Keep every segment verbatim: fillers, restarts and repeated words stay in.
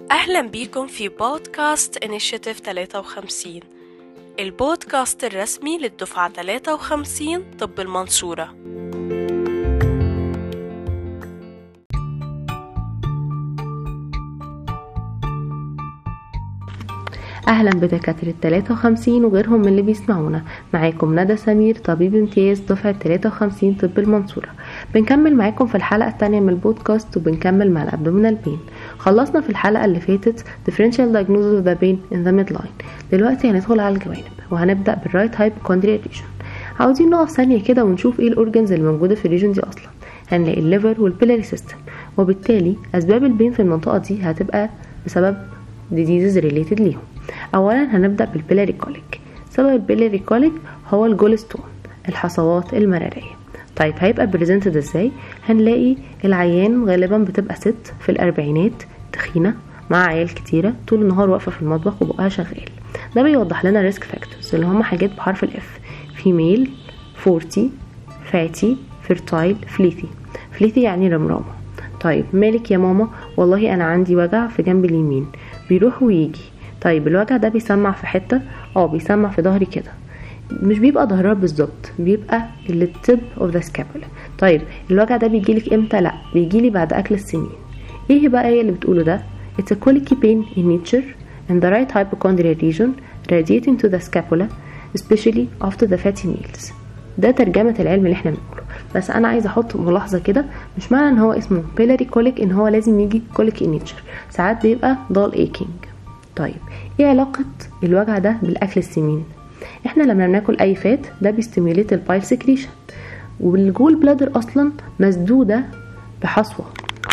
أهلا بيكم في بودكاست إنيشيتيف ثلاثة وخمسين، البودكاست الرسمي للدفعة ثلاثة وخمسين طب المنصورة. أهلا بدكاترة ثلاثة وخمسين وغيرهم من اللي بيسمعونا. معاكم ندى سمير، طبيب امتياز دفعة ثلاثة وخمسين طب المنصورة. بنكمل معاكم في الحلقة الثانية من البودكاست وبنكمل مع الابدومينال بين. خلصنا في الحلقة اللي فاتت differential diagnosis of the pain in the midline. دلوقتي هندخل على الجوانب وهنبدأ بالرايت هايبوكوندريال ريجن. عاوزين نقف ثانية كده ونشوف ايه الاورجنز اللي موجودة في الريجن دي اصلا. هنلاقي الليفر والبيلاري سيستم، وبالتالي اسباب البين في المنطقة دي هتبقى بسبب diseases related ليهم. اولا هنبدأ بالبيلاري كوليك. سبب البيلاري كوليك هو الجولستون، الحصوات المرارية. طيب هيبقى بريزنتد ازاي؟ هنلاقي العيان غالبا بتبقى ست في الاربعينات، تخينة مع عيال كتيرة، طول النهار واقفة في المطبخ وبقها شغال. ده بيوضح لنا ريسك فاكتورز اللي هم حاجات بحرف الاف: فيميل، فورتي، فاتي، فيرتايل، فليثي. فليثي يعني رمرامة. طيب مالك يا ماما؟ والله انا عندي وجع في جنب اليمين بيروح ويجي. طيب الوجع ده بيسمع في حتة؟ اه بيسمع في ظهري كده، مش بيبقى ظهرها بالظبط، بيبقى اللي tip of the scapula. طيب الوجع ده بيجيلك امتى؟ لا بيجيلي بعد اكل السنين. ايه بقى ايه اللي بتقوله ده؟ it's a colicky pain in nature in the right hypochondrial region radiating to the scapula especially after the fatty meals. ده ترجمة العلم اللي احنا بنقوله. بس انا عايزه احط ملاحظة كده، مش معنى ان هو اسمه biliary colic ان هو لازم يجي colic in nature، ساعات بيبقى dull aching. طيب ايه علاقة الوجع ده بالاكل السمين؟ احنا لما بناكل اي فات ده بيستيميليت البايل سكريشن، والجول بلادر اصلا مسدودة بحصوة،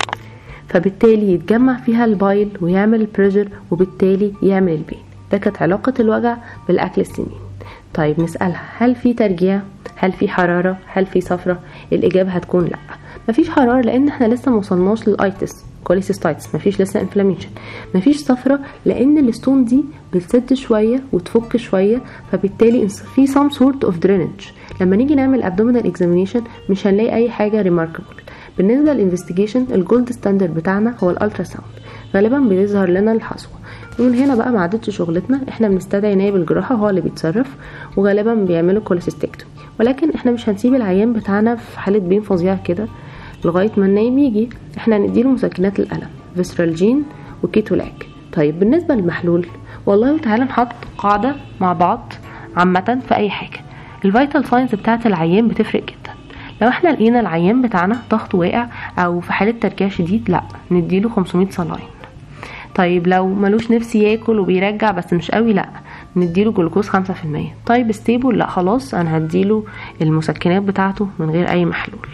فبالتالي يتجمع فيها البايل ويعمل البريشر وبالتالي يعمل البين. ده كانت علاقة الوجع بالاكل السمين. طيب نسألها، هل في ترجيع؟ هل في حرارة؟ هل في صفرة؟ الاجابة هتكون لا، مفيش حرارة لان احنا لسه موصلناش للايتس كوليسيستايتس، مفيش لسه انفلاميشن. مفيش صفرة لان الستون دي بتسد شوية وتفك شوية، فبالتالي في some sort of drainage. لما نيجي نعمل abdominal examination مش هنلاقي اي حاجة remarkable. بالنسبة للانفستيجيشن الجولد ستاندرد بتاعنا هو الالترا ساوند، غالبا بيظهر لنا الحصوة. ومن هنا بقى ما عادتش شغلتنا، احنا بنستدعي نائب الجراحة هو اللي بيتصرف، وغالبا بيعملوا كوليسيستكتومي. ولكن احنا مش هنسيب العيان بتاعنا في حالة بين فظيعة كده لغاية ما النايم يجي. احنا هنديله مسكنات الألم فيسرالجين وكيتولاك. طيب بالنسبة للمحلول، والله تعالى نحط قاعدة مع بعض عامة في اي حاجة. الفيتال ساينز بتاعت العيان بتفرق جدا. لو احنا لقينا العيان بتاعنا ضغط واقع او في حالة ترجيع شديد، لا نديله خمسمية صلاين. طيب لو ملوش نفسي ياكل وبيرجع بس مش قوي، لا نديله جلوكوز خمسة في المية. طيب ستيبل، لا خلاص انا هديله المسكنات بتاعته من غير اي محلول.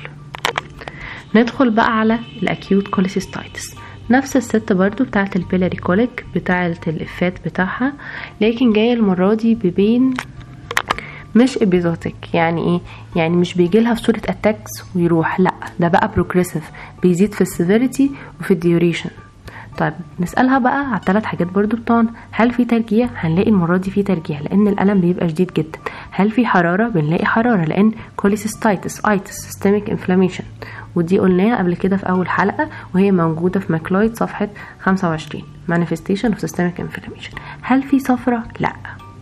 ندخل بقى على الاكيوت كوليسيستايتس. نفس الست برضو بتاعت البيلاري كوليك بتاعت الافات بتاعها، لكن جاية المرة دي ببين مش ابيزوتيك. يعني ايه؟ يعني مش بيجي لها في صورة اتاكس ويروح، لا ده بقى بروجريسيف، بيزيد في السيفيريتي وفي الديوريشن. طيب نسألها بقى على الثلاث حاجات برضو بتوعنا. هل في ترجيع؟ هنلاقي المرة دي في ترجيع لان الألم بيبقى شديد جدا. هل في حرارة؟ بنلاقي حرارة لان كوليسيستايتس ايتس سيستميك انفلاميشن، ودي قلناها قبل كده في اول حلقة وهي موجودة في ماكلويد صفحة خمسة وعشرين manifestation of systemic inflammation. هل في صفرة؟ لا.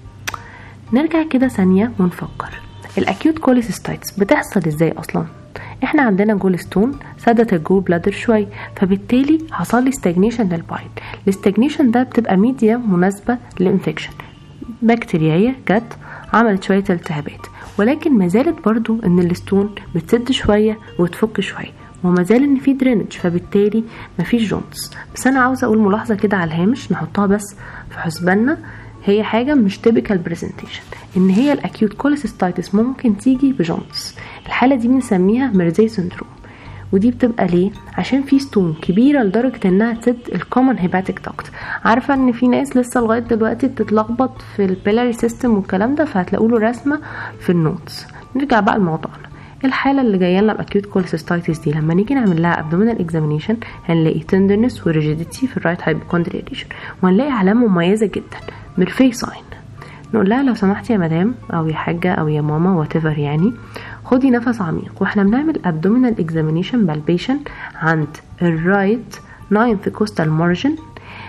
نرجع كده ثانية ونفكر، الاكيوت كوليسيستايتس بتحصل ازاي اصلا؟ احنا عندنا جولستون سدت الجول بلادر شوي، فبالتالي حصل لي ستاجنيشن للبايل. الاستاجنيشن ده بتبقى ميديا مناسبة للانفكشن، بكتيريا جت عملت شوية التهابات، ولكن ما زالت برضو ان الستون بتسد شوية وتفك شوية، وما زال ان في درينج، فبالتالي مفيش جونز. بس انا عاوزة اقول ملاحظة كده على الهامش نحطها بس في حسباننا، هي حاجة مش typical presentation، ان هي الاكيوت كوليسيستايتس ممكن تيجي بجونز. الحالة دي بنسميها ميرزي سندروم، ودي بتبقى ليه؟ عشان في ستون كبيرة لدرجة انها تسد الكومن هيباتيك داكت. عارفة ان في ناس لسه لغاية دلوقتي بتتلخبط في البيلاري سيستم والكلام ده، فهتلاقوا له رسمة في النوتس. نرجع بقى لموضوعنا. الحالة اللي جايه لنا باكيوت كوليسيستايتس دي لما نيجي نعمل لها abdominal examination هنلاقي tenderness و rigidity في الرايت hypochondrial region، وهنلاقي علامة مميزة جدا ميرفي ساين. نقول لها لو سمحتي يا مدام او يا حاجة او يا ماما whatever، يعني خدي نفس عميق واحنا بنعمل abdominal examination palpation عند الرايت ninth costal margin.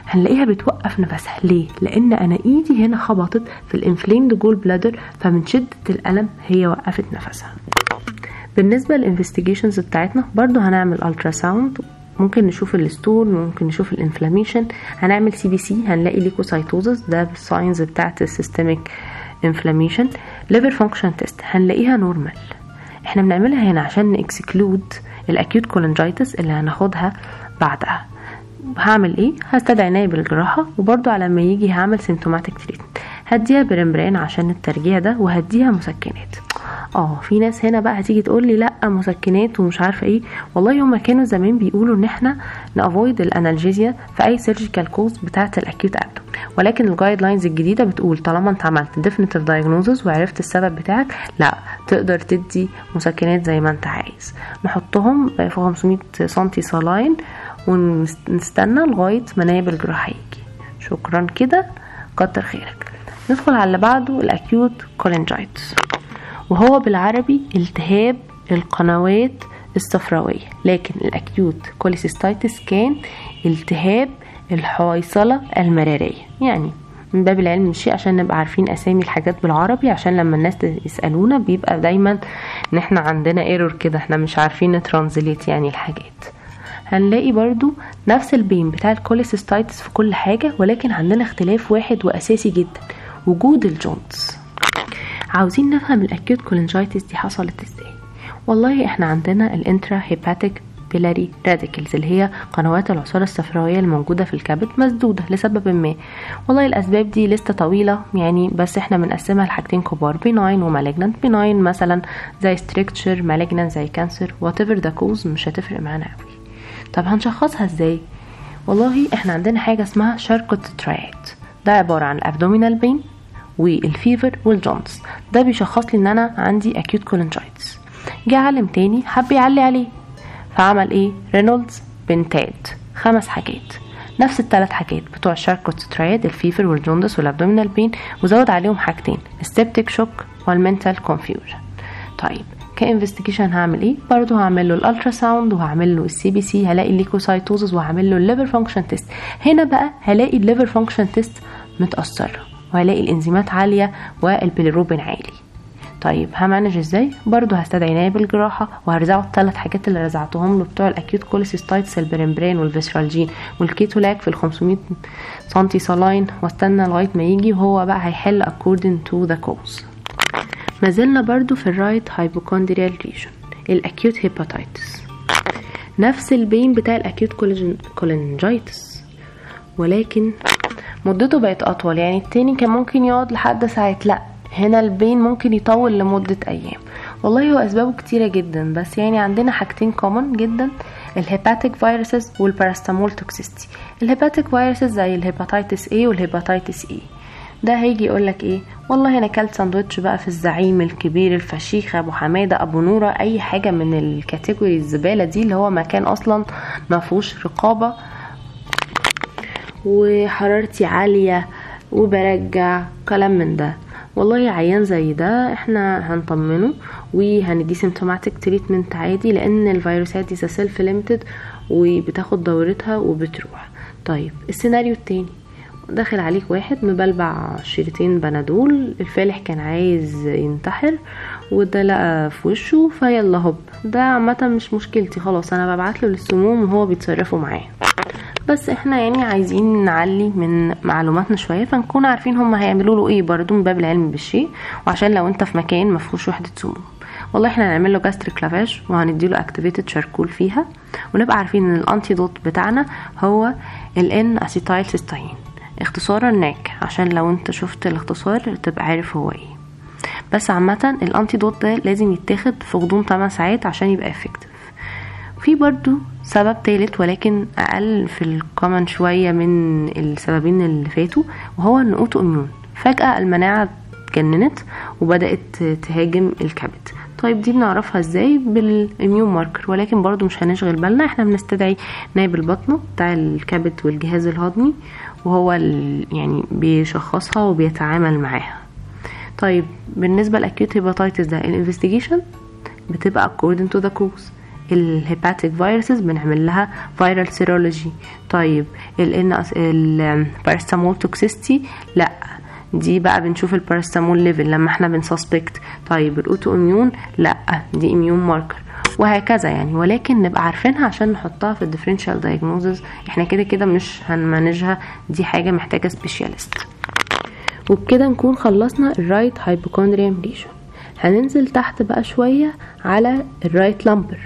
هنلاقيها بتوقف نفسها. ليه؟ لان انا ايدي هنا خبطت في الانفليمد جول بلادر، فمن شدة الالم هي وقفت نفسها. بالنسبة للانفستيجيشنز بتاعتنا برضو هنعمل الترا ساوند، ممكن نشوف الستول، ممكن نشوف الانفلاميشن، هنعمل سي بي سي هنلاقي ليكوسايتوزس، ده بالساينز بتاعت السيستميك انفلاميشن. ليفر فانكشن تيست هنلاقيها نورمال. احنا بنعملها هنا عشان نكسكلود الاكيوت كولنجايتس اللي هناخدها بعدها. هعمل ايه؟ هستدعي عناية بالجراحة، وبرضو على ما يجي هعمل سيمتوماتيك تريتمنت، هديها برمبران عشان الترجيع ده، وهديها مسكنات. اه في ناس هنا بقى هتيجي تقول لي لا مسكنات ومش عارفه ايه. والله هما كانوا زمان بيقولوا ان احنا نافويد الانالجيزيا في اي سيرجيكال كوز بتاعه الاكيوت ابدو، ولكن الجايد لاينز الجديده بتقول طالما انت عملت ديفينيتيف دايجنوزس وعرفت السبب بتاعك، لا تقدر تدي مسكنات زي ما انت عايز. نحطهم في خمسمية سنتي صلاين ونستنى لغايه ما نائب الجراحه يجي. شكرا كده، كتر خيرك. ندخل على اللي بعده، الاكيوت كولنجايتس، وهو بالعربي التهاب القنوات الصفراوية، لكن الاكيوت كوليسيستايتس كان التهاب الحويصلة المرارية. يعني من باب العلم الشيء عشان نبقى عارفين اسامي الحاجات بالعربي، عشان لما الناس يسألونا بيبقى دايما ان احنا عندنا ايرور كده، احنا مش عارفين نترانزليت يعني الحاجات. هنلاقي برضو نفس البين بتاع الكوليسيستايتس في كل حاجة، ولكن عندنا اختلاف واحد واساسي جدا، وجود الجونز. عاوزين نفهم الاكيوت كولنجايتس دي حصلت ازاي. والله احنا عندنا الانترا هيباتيك بيلاري راديكلز اللي هي قنوات العصارة الصفراوية الموجودة في الكبد مسدودة لسبب ما. والله الاسباب دي لسه طويلة يعني، بس احنا بنقسمها لحاجتين كبار، بيناين ومالجنانت. بيناين مثلا زي ستريكتشر، مالجنانت زي كانسر، whatever the cause مش هتفرق معانا قوي. طب هنشخصها ازاي؟ والله احنا عندنا حاجة اسمها شاركوت ترايد، ده عبارة عن الابدومينال بين والفيفر والجونز. ده بيشخص لي ان انا عندي اكيوت كولنجايتس. جه عالم تاني حب يعلي عليه، فعمل ايه؟ رينولدز بنتاد، خمس حاجات، نفس الثلاث حاجات بتوع الشاركوت ترايد، الفيفر والجوندس والابدومينال بين، وزود عليهم حاجتين، السبتيك شوك والمنتال كونفيوجن. طيب كانفستيجيشن هعمل ايه؟ برضو هعمل له الالترا ساوند، وهعمل له السي بي سي، هلاقي الليكوسايتوزس، وهعمل له الليفر فانكشن تيست. هنا بقى هلاقي الليفر فانكشن تيست متاثره، وهلاقي الانزيمات عاليه والبيليروبين عالي. طيب همانج ازاي؟ برضو هستدعي عناية بالجراحه، وهرزعه الثلاث حاجات اللي رزعتهم له بتوع الاكيوت كوليسيستايتس، البرمبران والفيسرالجين والكيتولاك في ال خمسمية سنتي صلاين، واستنى لغايه ما يجي، وهو بقى هيحل according to the cause. ما زلنا برضو في الرايت هايبوكوندريال ريجن، الاكيوت هيباتايتس، نفس البين بتاع الاكيوت كولنجايتس، ولكن مدته بقت اطول. يعني التاني كان ممكن يقعد لحد ساعات، لا هنا البين ممكن يطول لمدة ايام. والله هو اسبابه كتيرة جدا، بس يعني عندنا حاجتين كومن جدا، الهيباتيك فيروسز والباراستامول توكسيستي. الهيباتيك فيروسز زي الهيباتيتس A والهيباتيتس E، ده هيجي يقولك ايه؟ والله انا كلت ساندوتش بقى في الزعيم الكبير الفشيخ ابو حماده ابو نوره، اي حاجه من الكاتيجوري الزباله دي اللي هو مكان اصلا ما فيهوش رقابه، وحرارتي عاليه وبرجع كلام من ده. والله عيان زي ده احنا هنطمنه وهندي سيمتوماتيك تريتمنت عادي، لان الفيروسات دي سيلف ليميتد وبتاخد دورتها وبتروح. طيب السيناريو التاني، داخل عليك واحد مبلبع شريطين بنادول، الفالح كان عايز ينتحر وده لقى في وشه فيلا هوب، ده عامه مش مشكلتي، خلاص انا ببعتله للسموم وهو بيتصرفوا معاه. بس احنا يعني عايزين نعلي من معلوماتنا شويه، فنكون عارفين هم هيعملوا له ايه برضو من باب العلم بالشيء، وعشان لو انت في مكان ما فيهوش وحده سموم. والله احنا هنعمل له جاستريك لافاج وهنديله اكتيفيتد شاركول فيها، ونبقى عارفين ان الانتيدوت بتاعنا هو الان اسيتايل سيستين، اختصارا ناك، عشان لو انت شفت الاختصار تبقى عارف هو ايه. بس عامه الانتيدوت ده لازم يتاخد في غضون ثمانية ساعات عشان يبقى افكتيف. في برضو سبب ثالث ولكن اقل في الكومن شويه من السببين اللي فاتوا، وهو ان اوتو اميون، فجاه المناعه اتجننت وبدات تهاجم الكبد. طيب دي بنعرفها ازاي؟ بالاميون ماركر، ولكن برضو مش هنشغل بالنا، احنا بنستدعي نائب البطنه بتاع الكبد والجهاز الهضمي، وهو يعني بيشخصها وبيتعامل معاها. طيب بالنسبه للاكيوت هيباتايتس ده، الانفستيجيشن بتبقى according to the cause، الهيباتيك فيروسز بنعمل لها فيرال سيرولوجي. طيب البارستامول توكسيستي لا، دي بقى بنشوف البارستامول ليفل لما احنا بنسسبكت. طيب الاوتو اميون لا، دي اميون ماركر، وهكذا يعني. ولكن نبقى عارفينها عشان نحطها في الديفرنشال دايجنوزز، احنا كده كده مش هنمانجها، دي حاجه محتاجه سبيشالست. وبكده نكون خلصنا الرايت هايبوكوندريوم ليجن. هننزل تحت بقى شويه على الرايت لامبر،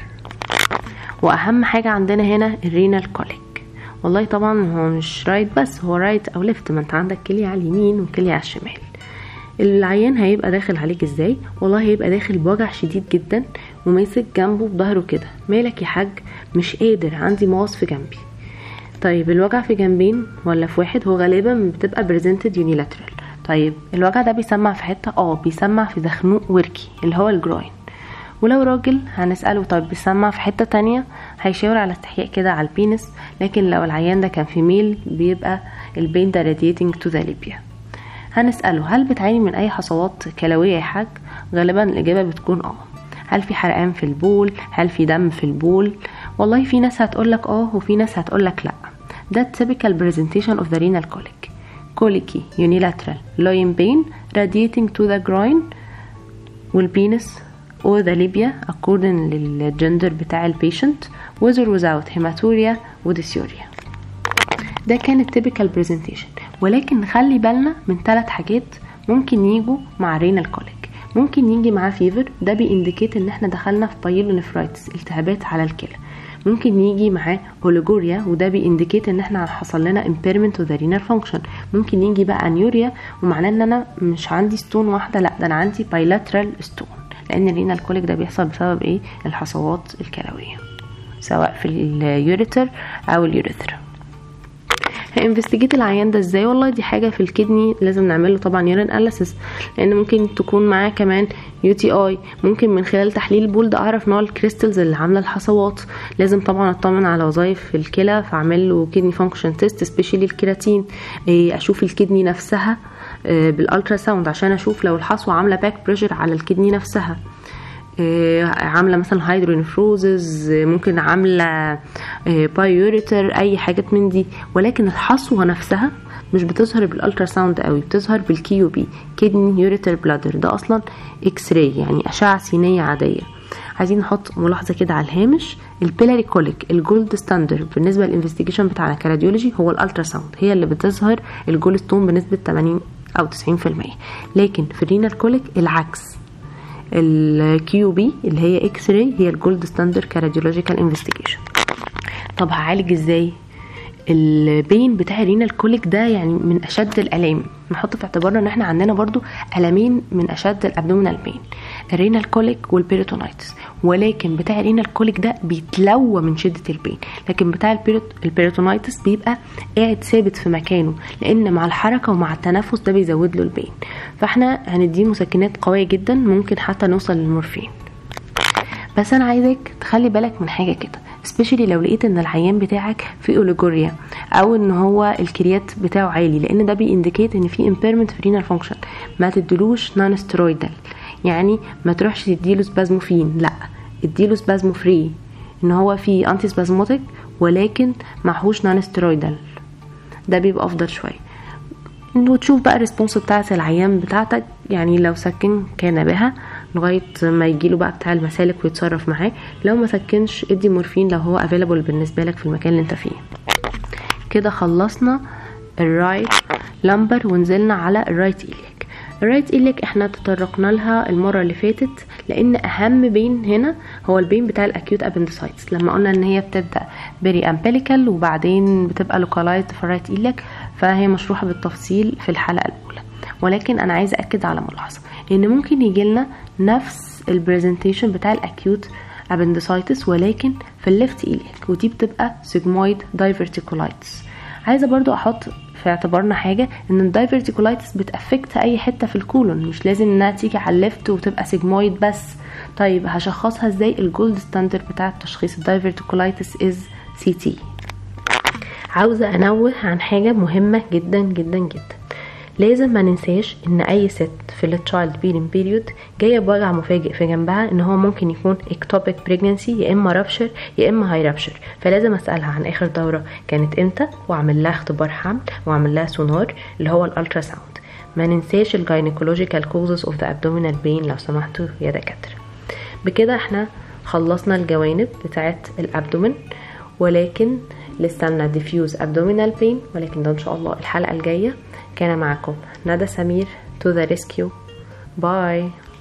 واهم حاجه عندنا هنا الرينال كوليك. والله طبعا هو مش رايت بس، هو رايت او ليفت، ما انت عندك كليه على اليمين وكليه على الشمال. العيان هيبقى داخل عليك ازاي؟ والله هيبقى داخل بوجع شديد جدا وماسك جنبه بظهره كده، مالك يا حاج؟ مش قادر، عندي مغص في جنبي. طيب الوجع في جنبين ولا في واحد؟ هو غالبا بتبقى بريزنتد يونيلاترال. طيب الوجع ده بيسمع في حته؟ اه بيسمع في زخنوق وركي اللي هو الجروين. ولو راجل هنسأله طيب بيسمع في حتة تانية، هيشاور على استحياء كده على البينس. لكن لو العيان ده كان في ميل بيبقى البين ده radiating to the labia. هنسأله هل بتعاني من اي حصوات كلوية يا حاج؟ غالبا الاجابة بتكون اه. هل في حرقان في البول؟ هل في دم في البول؟ والله في ناس هتقولك اه وفي ناس هتقولك لا. ده typical presentation of the renal colic. colicky unilateral loin pain radiating to the groin والبينس or the labia according للجندر بتاع البيشنت with or without hematuria وديسيوريا. ده كان التيبيكال بريزنتيشن. ولكن نخلي بالنا من ثلاث حاجات ممكن يجوا مع رينال كوليك. ممكن يجي معاه فيفر، ده بينديكيت ان احنا دخلنا في بايلونيفرايتس، التهابات على الكلى. ممكن يجي معاه اوليجوريا، وده بينديكيت ان احنا حصل لنا impairment of the renal function. ممكن يجي بقى انيوريا، ومعناه ان انا مش عندي ستون واحده، لا ده انا عندي bilateral ستون، لان الرينال كوليك ده بيحصل بسبب ايه؟ الحصوات الكلويه سواء في اليوريتر او اليوريثرا. هانفستيجيت العيان ده ازاي؟ والله دي حاجه في الكدني لازم نعمله طبعا يورين اناليسيس، لان ممكن تكون معاه كمان يو تي اي. ممكن من خلال تحليل البول ده اعرف نوع الكريستلز اللي عامله الحصوات. لازم طبعا اطمن على وظائف الكلى، فاعمل له كدني فانكشن تيست سبيشالي الكيراتين. اشوف الكدني نفسها بالالترا ساوند عشان اشوف لو الحصوه عامله باك بريشر على الكدني نفسها، عامله مثلا هايدرونفروزز، ممكن عامله بايوريتر، اي حاجات من دي. ولكن الحصوه نفسها مش بتظهر بالالترا ساوند قوي، بتظهر بالكيو بي كدني يوريتر بلادر، ده اصلا اكس راي يعني اشعه سينيه عاديه. عايزين نحط ملاحظه كده على الهامش، البيلاري كوليك الجولد ستاندرد بالنسبه للانفستيجيشن بتاعنا كراديولوجي هو الالترا ساوند، هي اللي بتظهر الجول ستون بنسبه ثمانين او تسعين في المية. لكن في الرينال كوليك العكس، الكيو بي اللي هي اكس راي هي الجولد ستاندرد كراديولوجيكال انفستيجيشن. طب هعالج ازاي؟ البين بتاع الرينال كوليك ده يعني من اشد الالام، نحط في اعتبارنا ان احنا عندنا برضو المين من اشد الابدومينال بين، الرينال كوليك والبيريتونايتس. ولكن بتاع الرينال كوليك ده بيتلوى من شده البين، لكن بتاع البيريتونايتس بيبقى قاعد ثابت في مكانه، لان مع الحركه ومع التنفس ده بيزود له البين. فاحنا هنديه مسكنات قويه جدا، ممكن حتى نوصل للمورفين. بس انا عايزك تخلي بالك من حاجه كده، سبيشالي لو لقيت ان العيان بتاعك في اوليجوريا او ان هو الكريات بتاعه عالي، لان ده بينديكيت ان في امبيرمنت في رينال فانكشن. ما تديلوش نون ستيرويدال، يعني ما تروحش تديله سبازموفين، لا اديله سبازمو فري، ان هو في انتي سبازموتيك ولكن معهوش نون ستيرويدال، ده بيبقى افضل شويه. وتشوف بقى الريسبونس بتاعه العيان بتاعتك، يعني لو سكن كان بها لغايه ما يجيله بقى بتاع المسالك ويتصرف معاه. لو ما سكنش ادي مورفين لو هو افيلابل بالنسبه لك في المكان اللي انت فيه. كده خلصنا الرايت لامبر ونزلنا على الرايت إليك. الرايت إليك احنا تطرقنا لها المره اللي فاتت، لان اهم بين هنا هو البين بتاع الاكيوت ابندسايتس، لما قلنا ان هي بتبدا بري امبليكال وبعدين بتبقى لوكالايزد في الرايت إليك، فهي مشروحه بالتفصيل في الحلقه الاولى. ولكن انا عايزه اكد على ملاحظه، ان ممكن يجي لنا نفس البرزنتيشن بتاع الاكيوت ابندسايتس ولكن في الليفت إليك، ودي بتبقى سيجمويد دايفرتيكولايتس. عايزه برضو احط في اعتبارنا حاجه، ان الدايفرتيكولايتس بتافكت اي حته في الكولون، مش لازم انها تيجي على الليفت وتبقى سيجمويد بس. طيب هشخصها ازاي؟ الجولد ستاندرد بتاع التشخيص الدايفرتيكولايتس از سي تي. عاوزه انوه عن حاجه مهمه جدا جدا جدا، لازم ما ننساش ان اي ست في التشايلد بيرين بيريود جايه بوجع مفاجئ في جنبها ان هو ممكن يكون اكتوبيك بريجنانسي، يا اما رابشر يا اما هاي رابشر. فلازم اسالها عن اخر دوره كانت امتى، واعمل لها اختبار حمل واعمل لها سونار اللي هو الالترا ساوند. ما ننساش الجاينيكولوجيكال كوزز اوف ذا ابدومينال بين لو سمحتوا يا دكاتره. بكده احنا خلصنا الجوانب بتاعت الابدومين، ولكن لسه لنا diffuse abdominal pain، ولكن ده ان شاء الله الحلقه الجايه. كان معكم ندى سمير to the rescue. باي.